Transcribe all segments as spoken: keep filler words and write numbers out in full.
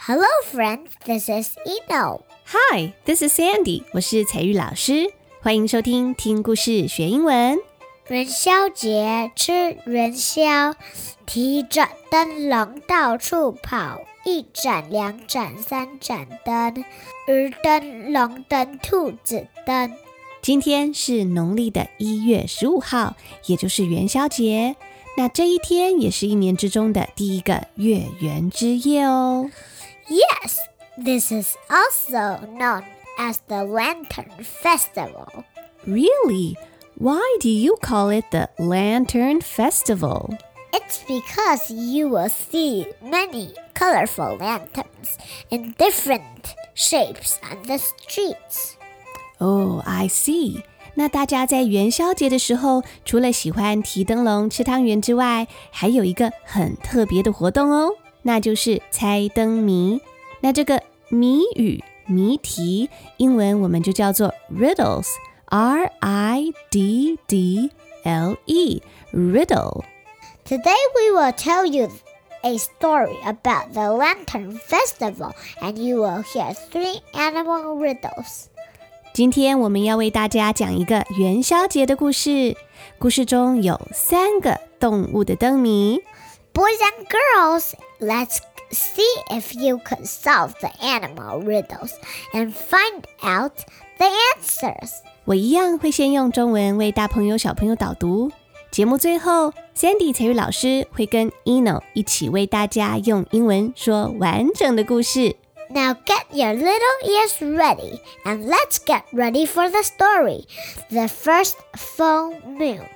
Hello, friends. This is Eno. Hi, this is Sandy. 我是采玉老師，歡迎收聽聽故事學英文。 元宵節吃元宵，提着燈籠到處跑，一盞兩盞三盞燈，魚燈、龍燈、兔子燈。 今天是農曆的一月十五號，也就是元宵節。那這一天也是一年之中的第一個月圓之夜哦。 Yes, this is also known as the Lantern Festival. Really? Why do you call it the Lantern Festival? It's because you will see many colorful lanterns in different shapes on the streets. Oh, I see. 那大家在元宵節的時候，除了喜歡提燈籠、吃湯圓之外，還有一個很特別的活動哦，那就是猜燈謎。那這個謎語、謎題，英文我們就叫做 riddles, R I D D L E, riddle. Today we will tell you a story about the Lantern Festival, and you will hear three animal riddles. 今天我們要為大家講一個元宵節的故事，故事中有三個動物的燈謎。 Boys and girls, let's see if you can solve the animal riddles and find out the answers. 我一樣會先用中文為大朋友小朋友導讀，節目最後 Sandy 采玉老師會跟 Eno 一起為大家用英文說完整的故事。 Now get your little ears ready, and let's get ready for the story. The first full moon.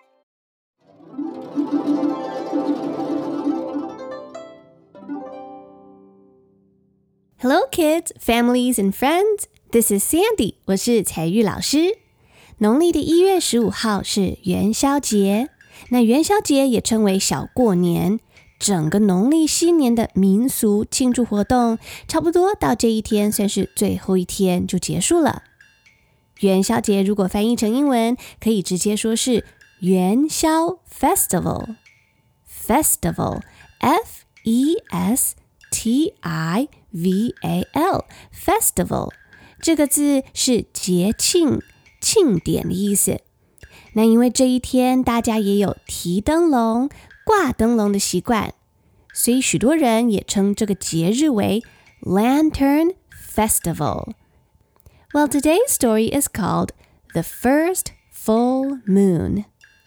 Hello kids, families and friends. This is Sandy. 我是采玉老師。農曆的一月十五號是元宵節，那元宵節也稱為小過年。整個農曆新年的民俗慶祝活動，差不多到這一天算是最後一天就結束了。元宵節如果翻譯成英文，可以直接說是元宵 Festival. Festival, F E S T I V A L, Festival. 這個字是節慶、慶典的意思。那因為這一天大家也有提燈籠、掛燈籠的習慣，所以許多人也稱這個節日為 Lantern Festival. Well, today's story is called The First Full Moon.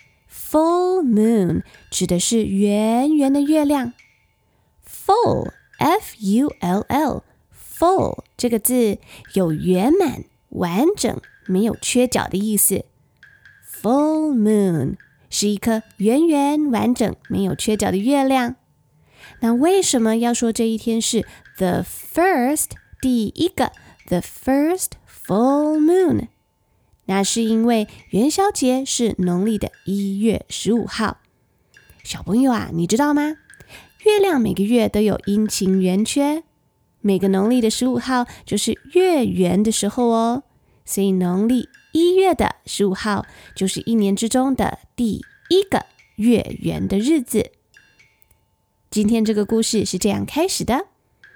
Full moon 指的是圓圓的月亮。Full, F U L L, full 這個字有圓滿、完整、沒有缺角的意思。Full moon是一顆圓圓完整沒有缺角的月亮。那為什麼要說這一天是 the first 第一個 the first full moon？ 那是因為元宵節是農曆的一月十五號。小朋友啊，你知道嗎？月亮每個月都有陰晴圓缺，每個農曆的十五號就是月圓的時候哦。所以農曆一月的十五號就是一年之中的第一個月圓的日子。今天這個故事是這樣開始的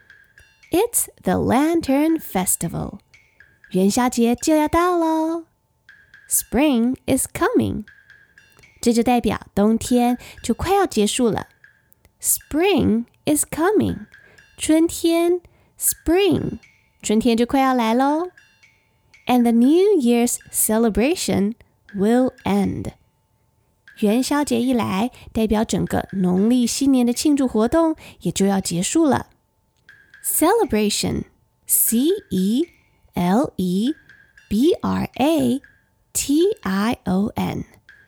：It's the Lantern Festival. 元宵節就要到咯。Spring is coming. 這就代表冬天就快要結束了。Spring is coming. 春天 Spring. 春天就快要來咯。And the New Year's celebration will end. 元宵節一來，代表整個農曆新年的慶祝活動也就要結束了。Celebration, C E L E B R A T I O N,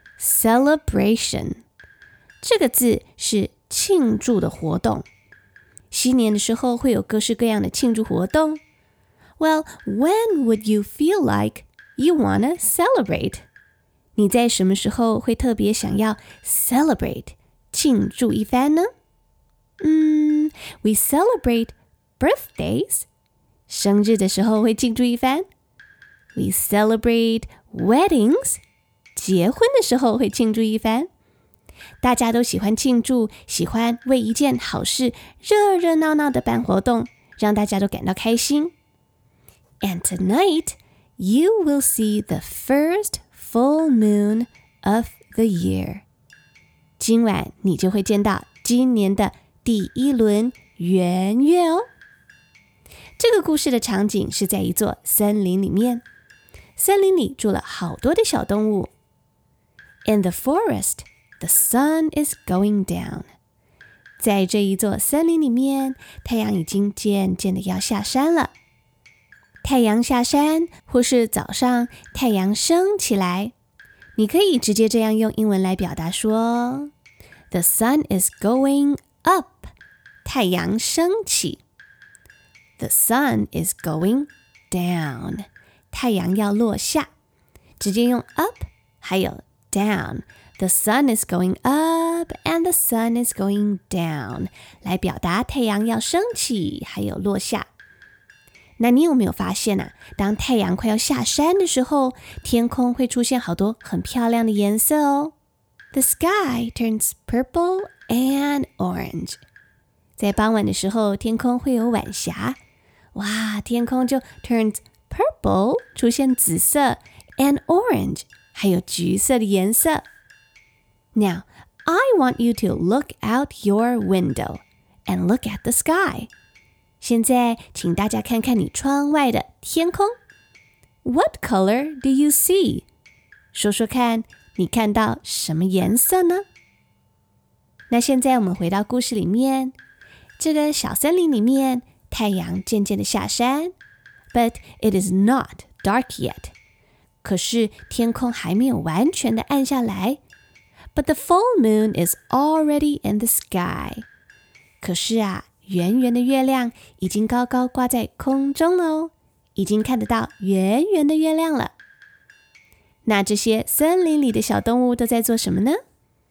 celebration. 這個字是慶祝的活動。新年的時候會有各式各樣的慶祝活動。Well, when would you feel like you wanna celebrate? 你在什麼時候會特別想要 celebrate 慶祝一番呢？嗯 We celebrate birthdays. 生日的時候會慶祝一番。We celebrate weddings. 結婚的時候會慶祝一番。大家都喜歡慶祝，喜歡為一件好事熱熱鬧鬧的辦活動， 讓大家都感到開心。And tonight, you will see the first full moon of the year. 今晚你就會見到今年的第一輪圓月哦。這個故事的場景是在一座森林裡面，森林裡住了好多的小動物。In the forest, the sun is going down. 在這一座森林裡面，太陽已經漸漸的要下山了。太陽下山，或是早上太陽升起來，你可以直接這樣用英文來表達說 The sun is going up. 太陽升起。The sun is going down. 太陽要落下。直接用 up 還有 down. The sun is going up and the sun is going down 來表達太陽要升起還有落下。那你有沒有發現啊，當太陽快要下山的時候，天空會出現好多很漂亮的顏色哦。The sky turns purple and orange. 在傍晚的時候，天空會有晚霞。哇，天空就 turns purple 出現紫色 and orange 還有橘色的顏色。Now, I want you to look out your window and look at the sky. 現在，請大家看看你窗外的天空。What color do you see? 說說看，你看到什麼顏色呢？那現在我們回到故事裡面，這個小森林裡面，太陽漸漸的下山 ，but it is not dark yet. 可是天空還沒有完全的暗下來 ，but the full moon is already in the sky. 可是啊。圓圓的月亮已經高高掛在空中了哦，已經看得到圓圓的月亮了。那這些森林裡的小動物都在做什麼呢？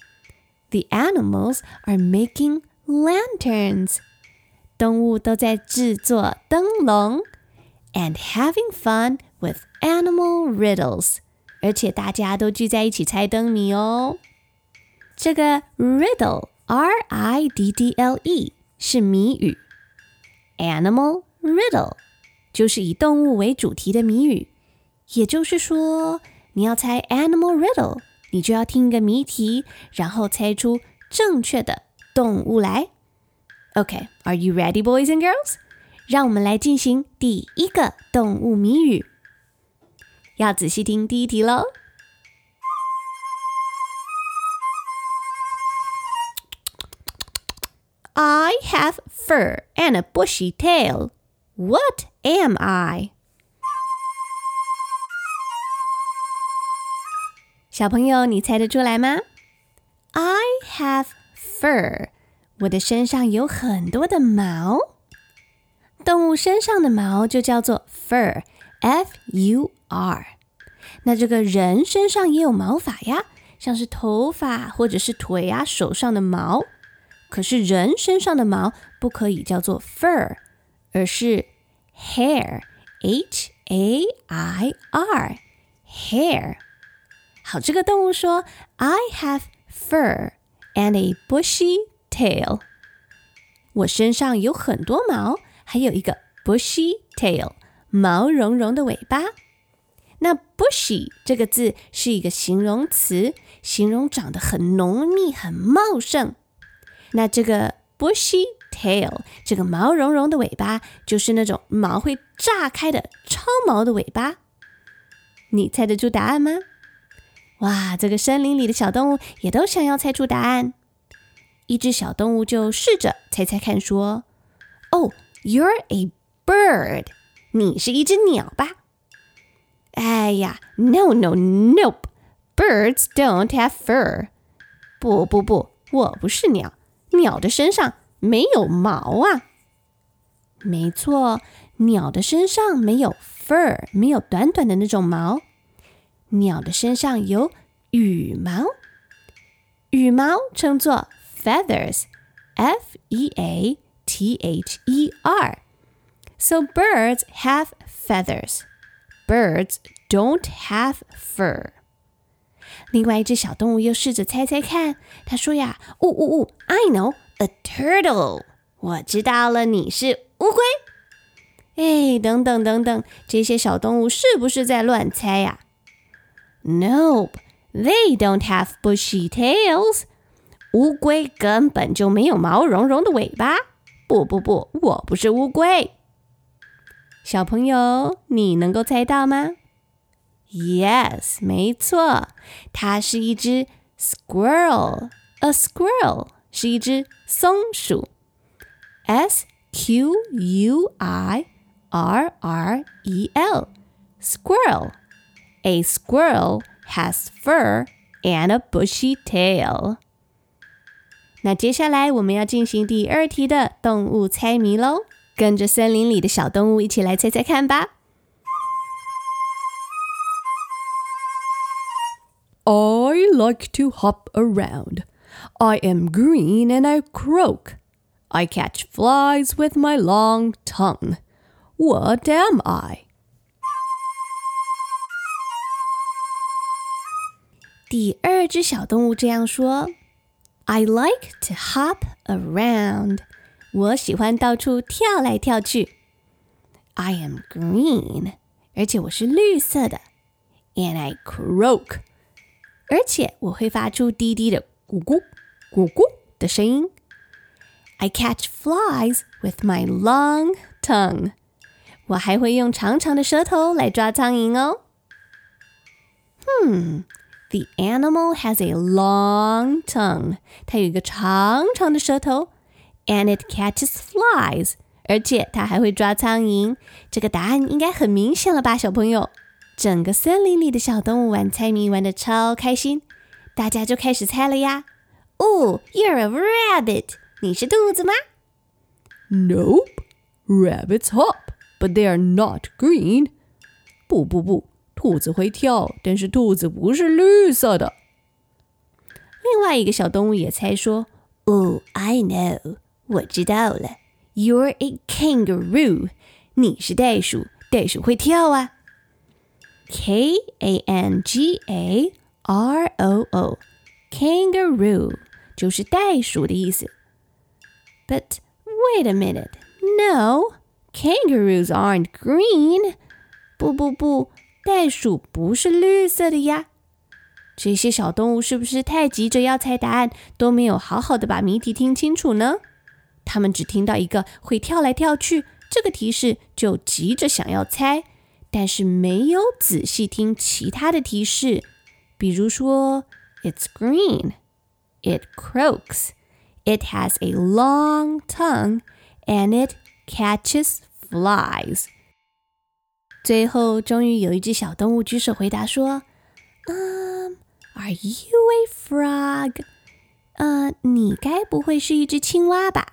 The animals are making lanterns. 動物都在製作燈籠 and having fun with animal riddles. 而且大家都聚在一起猜燈謎哦。這個 riddle, R I D D L E是謎語 Animal riddle 就是以動物為主題的謎語，也就是說你要猜 Animal riddle 你就要聽一個謎題，然後猜出正確的動物來。 OK, are you ready boys and girls? 讓我們來進行第一個動物謎語，要仔細聽第一題咯。I have fur and a bushy tail. What am I? 小朋友，你猜得出來嗎？ I have fur. 我的身上有很多的毛。動物身上的毛就叫做 fur, F U R. 那這個人身上也有毛髮呀，像是頭髮或者是腿啊、手上的毛。可是人身上的毛不可以叫做 fur, 而是 hair, H A I R, hair. 好，這個動物說 I have fur and a bushy tail. 我身上有很多毛，還有一個 bushy tail, 毛茸茸的尾巴。那 bushy 這個字是一個形容詞，形容長得很濃密、很茂盛。那這個 bushy tail 這個毛茸茸的尾巴就是那種毛會炸開的超毛的尾巴。你猜得出答案嗎？哇，這個森林裡的小動物也都想要猜出答案。一隻小動物就試着猜猜看說 Oh, you're a bird. 你是一隻鳥吧？哎呀 No, no, nope. Birds don't have fur. 不不不，我不是鳥。鳥的身上沒有毛啊。沒錯，鳥的身上沒有 fur， 沒有短短的那種毛。鳥的身上有羽毛，羽毛稱作 feathers, F E A T H E R. So birds have feathers. Birds don't have fur. 另外一隻小動物又試着猜猜看，他說呀，嗚嗚嗚 I know, a turtle. 我知道了，你是烏龜。 哎，等等等等，這些小動物是不是在亂猜呀？Nope, they don't have bushy tails. 烏龜根本就沒有毛茸茸的尾巴。不不不，我不是烏龜。小朋友，你能夠猜到嗎？ Yes, 沒錯，它是一隻 squirrel. A squirrel 是一隻松鼠。S Q U I R R E L, squirrel. A squirrel has fur and a bushy tail. 那接下來我們要進行第二題的動物猜謎咯，跟着森林裡的小動物一起來猜猜看吧。 I like to hop around. I am green and I croak. I catch flies with my long tongue. What am I? 第二隻小動物這樣說 I like to hop around. 我喜歡到處跳來跳去。I am green. 而且我是綠色的。And I croak. 而且我會發出低低的咕咕咕咕的聲音。I catch flies with my long tongue. 我還會用長長的舌頭來抓蒼蠅哦。Hmm, the animal has a long tongue. 它有一個長長的舌頭。And it catches flies. 而且它還會抓蒼蠅。這個答案應該很明顯了吧，小朋友？整個森林裡的小動物玩猜謎玩得超開心，大家就開始猜了呀。哦 You're a rabbit. 你是兔子嗎？ Nope. Rabbits hop, but they are not green. 不不不，兔子會跳，但是兔子不是綠色的。 另外一個小動物也猜說，哦 I know. 我知道了。You're a kangaroo. 你是袋鼠，袋鼠會跳啊。K A N G A R O O, kangaroo 就是袋鼠的意思。But wait a minute, no, kangaroos aren't green. 不不不，袋鼠不是綠色的呀。這些小動物是不是太急着要猜答案，都沒有好好的把謎題聽清楚呢？他們只聽到一個會跳來跳去這個提示，就急着想要猜。但是沒有仔細聽其他的提示，比如說 It's green, it croaks, it has a long tongue, and it catches flies. 最後，終於有一隻小動物舉手回答說 Um, are you a frog? 呃，你該不會是一隻青蛙吧？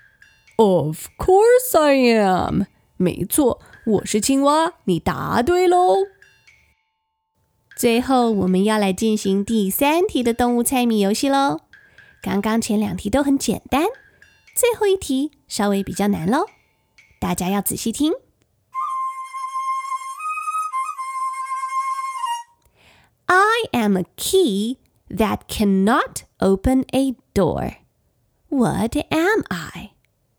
Of course I am. 沒錯。我是青蛙，你答對嘍。 最後，我們要來進行第三題的動物猜謎遊戲嘍。剛剛前兩題都很簡單，最後一題稍微比較難嘍。大家要仔細聽。I am a key that cannot open a door. What am I?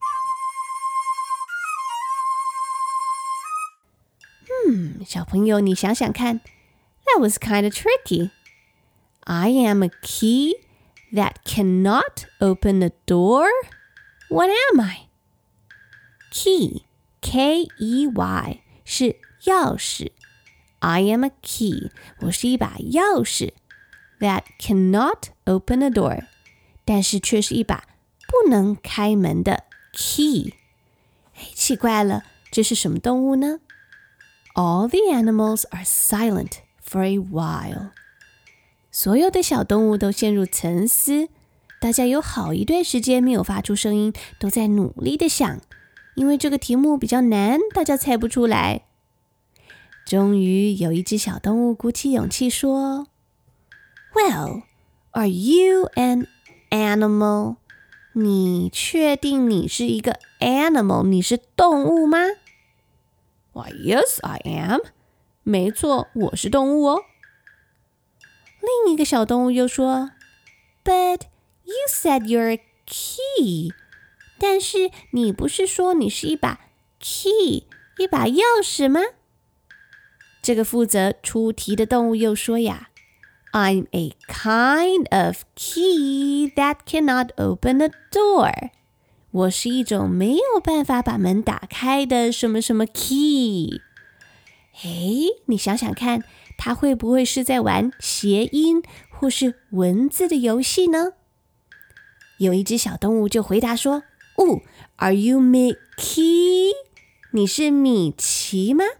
嗯，小朋友，你想想看 That was kind of tricky. I am a key that cannot open a door. What am I? Key, K E Y, 是鑰匙。I am a key, 我是一把鑰匙 that cannot open a door, 但是卻是一把不能開門的 key。哎，奇怪了，這是什麼動物呢？All the animals are silent for a while. 所有的小動物都陷入沉思，大家有好一段時間沒有發出聲音，都在努力的想，因為這個題目比較難，大家猜不出來。終於有一隻小動物鼓起勇氣說 Well, are you an animal? 你確定你是一個 animal? 你是動物嗎 Why, yes, I am. 沒錯，我是動物哦。另一個小動物又說 But you said you're a key. 但是你不是說你是一把 key 一把鑰匙嗎？這個負責出題的動物又說呀， I'm a kind of key that cannot open a door. 我是一種沒有辦法把門打開的什麼什麼 key。 誒，你想想看，它會不會是在玩諧音或是文字的遊戲呢？有一隻小動物就回答說，哦 Are you Mickey? 你是米奇嗎？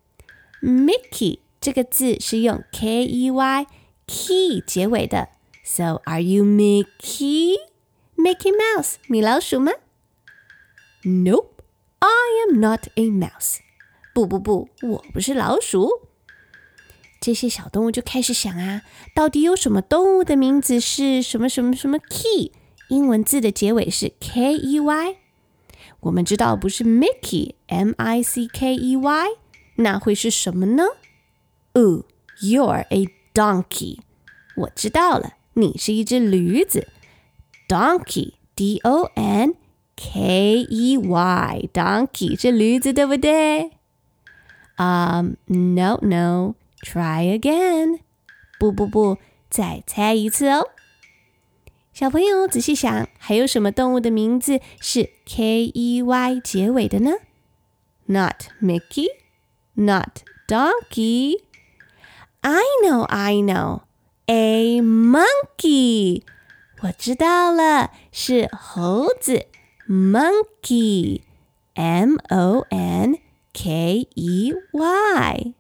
Mickey 這個字是用 K E Y key 結尾的， So are you Mickey? Mickey Mouse 米老鼠嗎？ Nope, I am not a mouse. 不不不，我不是老鼠。這些小動物就開始想啊，到底有什麼動物的名字是什麼什麼什麼 key， 英文字的結尾是 K E Y。 我們知道不是 Mickey M I C K E Y， 那會是什麼呢？哦 You're a donkey。 我知道了，你是一隻驢子。 Donkey D O N K E Y Donkey 是驢子，對不對？Um, no, no, try again. 不不不，再猜一次哦。小朋友仔細想，還有什麼動物的名字是 K E Y 結尾的呢？ Not Mickey, not donkey. I know, I know. A monkey. 我知道了，是猴子 Monkey. M O N K E Y.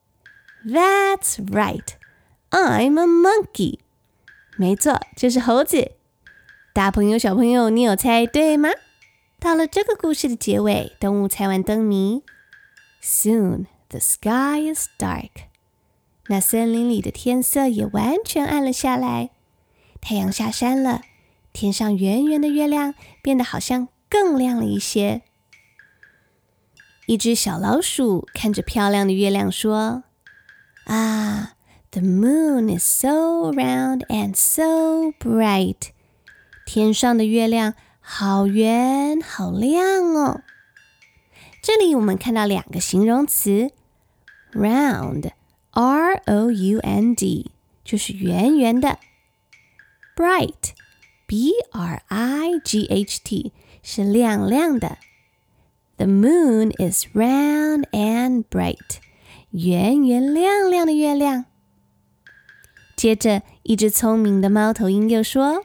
That's right. I'm a monkey. 沒錯，就是猴子。大朋友小朋友，你有猜對嗎？到了這個故事的結尾，動物猜完燈謎。Soon the sky is dark. 那森林裡的天色也完全暗了下來。太陽下山了，天上圓圓的月亮變得好像更亮了一些。一隻小老鼠看着漂亮的月亮說，啊 The moon is so round and so bright. 天上的月亮好圓好亮哦。這裡我們看到兩個形容詞 round R O U N D 就是圓圓的， bright B R I G H T 是亮亮的。 The moon is round and bright. 圓圓亮亮的月亮。接着，一隻聰明的貓頭鷹又說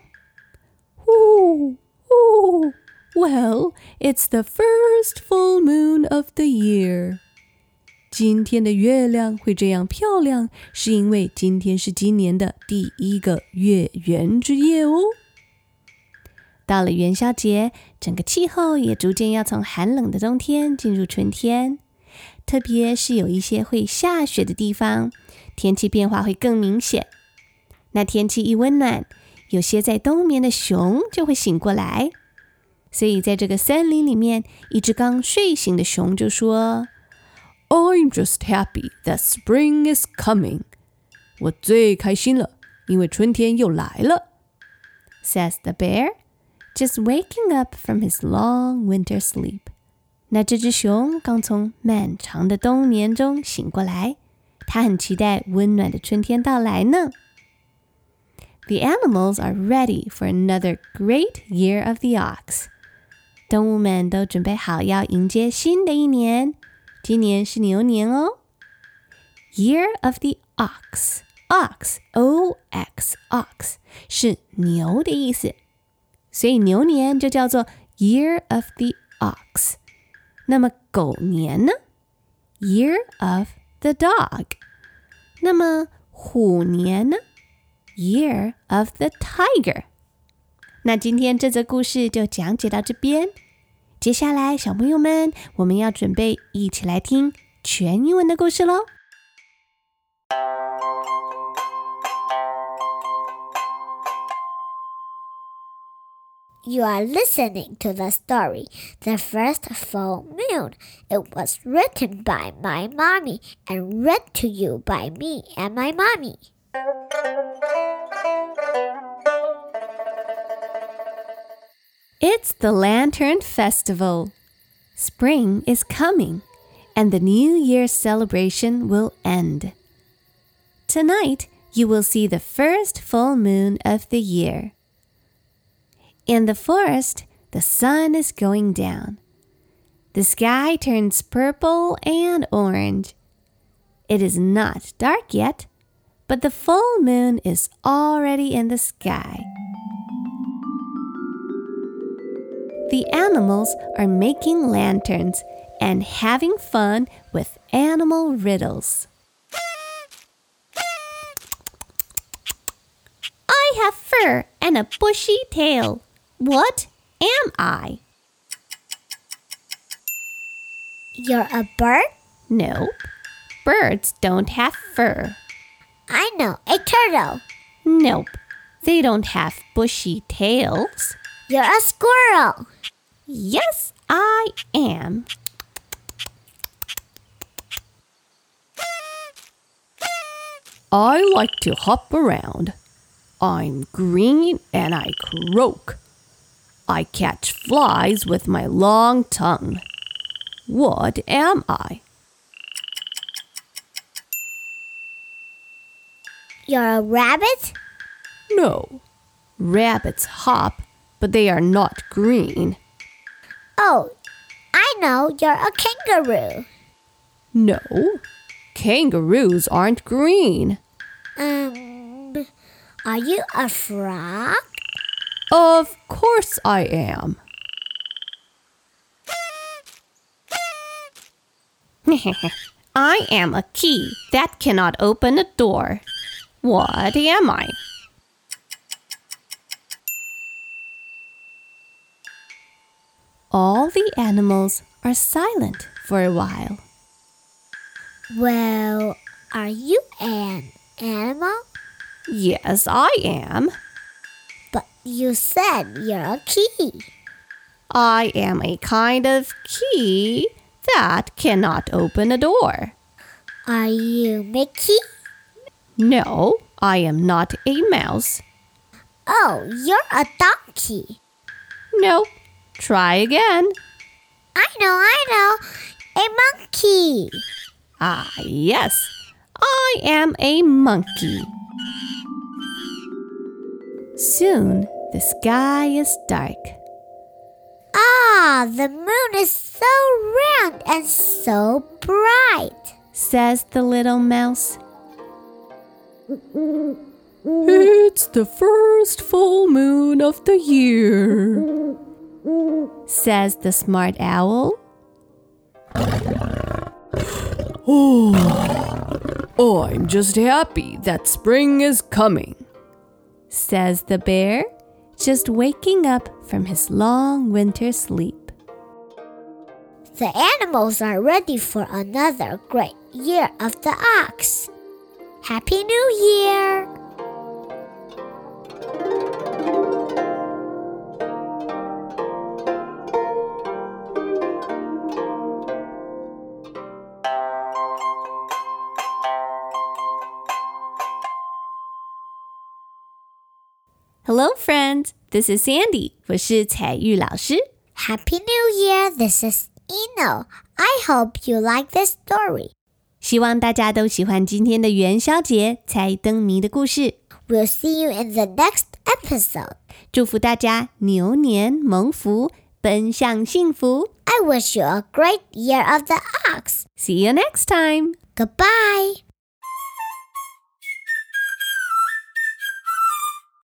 Ooh, ooh, well, it's the first full moon of the year. 今天的月亮會這樣漂亮，是因為今天是今年的第一個月圓之夜哦。 到了元宵節，整個氣候也逐漸要從寒冷的冬天進入春天。特別是有一些會下雪的地方，天氣變化會更明顯。那天氣一溫暖，有些在冬眠的熊就會醒過來。所以在這個森林裡面，一隻剛睡醒的熊就說， I'm just happy that spring is coming. 我最開心了，因為春天又來了。 Says the bear, just waking up from his long winter sleep. 那這隻熊剛從漫長的冬眠中醒過來，它很期待溫暖的春天到來呢。The animals are ready for another great year of the ox. 動物們都準備好要迎接新的一年，今年是牛年哦。Year of the ox, ox, O X, ox 是牛的意思，所以牛年就叫做 Year of the ox。那麼狗年呢？ Year of the dog。那麼虎年呢？ Year of the tiger。那今天這則故事就講解到這邊，接下來小朋友們，我們要準備一起來聽全英文的故事咯。 You are listening to the story, The First Full Moon. It was written by my mommy and read to you by me and my mommy. It's the Lantern Festival. Spring is coming. and the New Year's celebration will end. Tonight, you will see the first full moon of the year. In the forest, the sun is going down. The sky turns purple and orange. It is not dark yet, but the full moon is already in the sky. The animals are making lanterns and having fun with animal riddles. I have fur and a bushy tail. What am I? You're a bird? Nope. Birds don't have fur. I know, a turtle. Nope. They don't have bushy tails. You're a squirrel. Yes, I am. I like to hop around. I'm green and I croak. I catch flies with my long tongue. What am I? You're a rabbit? No. Rabbits hop, but they are not green. Oh, I know, you're a kangaroo. No. Kangaroos aren't green. Um, are you a frog? Of course I am. I am a key that cannot open a door. What am I? All the animals are silent for a while. Well, are you an animal? Yes, I am. But you said you're a key. I am a kind of key that cannot open a door. Are you Mickey? No, I am not a mouse. Oh, you're a donkey. No, try again. I know, I know. A monkey. Ah, yes, I am a monkey. Soon, the sky is dark. Ah, the moon is so round and so bright, says the little mouse. It's the first full moon of the year, says the smart owl. Oh, I'm just happy that spring is coming, says the bear, just waking up from his long winter sleep. The animals are ready for another great year of the ox. Happy New Year! Hello, friends. This is Sandy. 我是彩玉老師。 Happy New Year. This is Eno. I hope you like this story. 希望大家都喜歡今天的元宵節猜燈謎的故事。 We'll see you in the next episode. 祝福大家牛年蒙福，奔向幸福。 I wish you a great year of the ox. See you next time. Goodbye.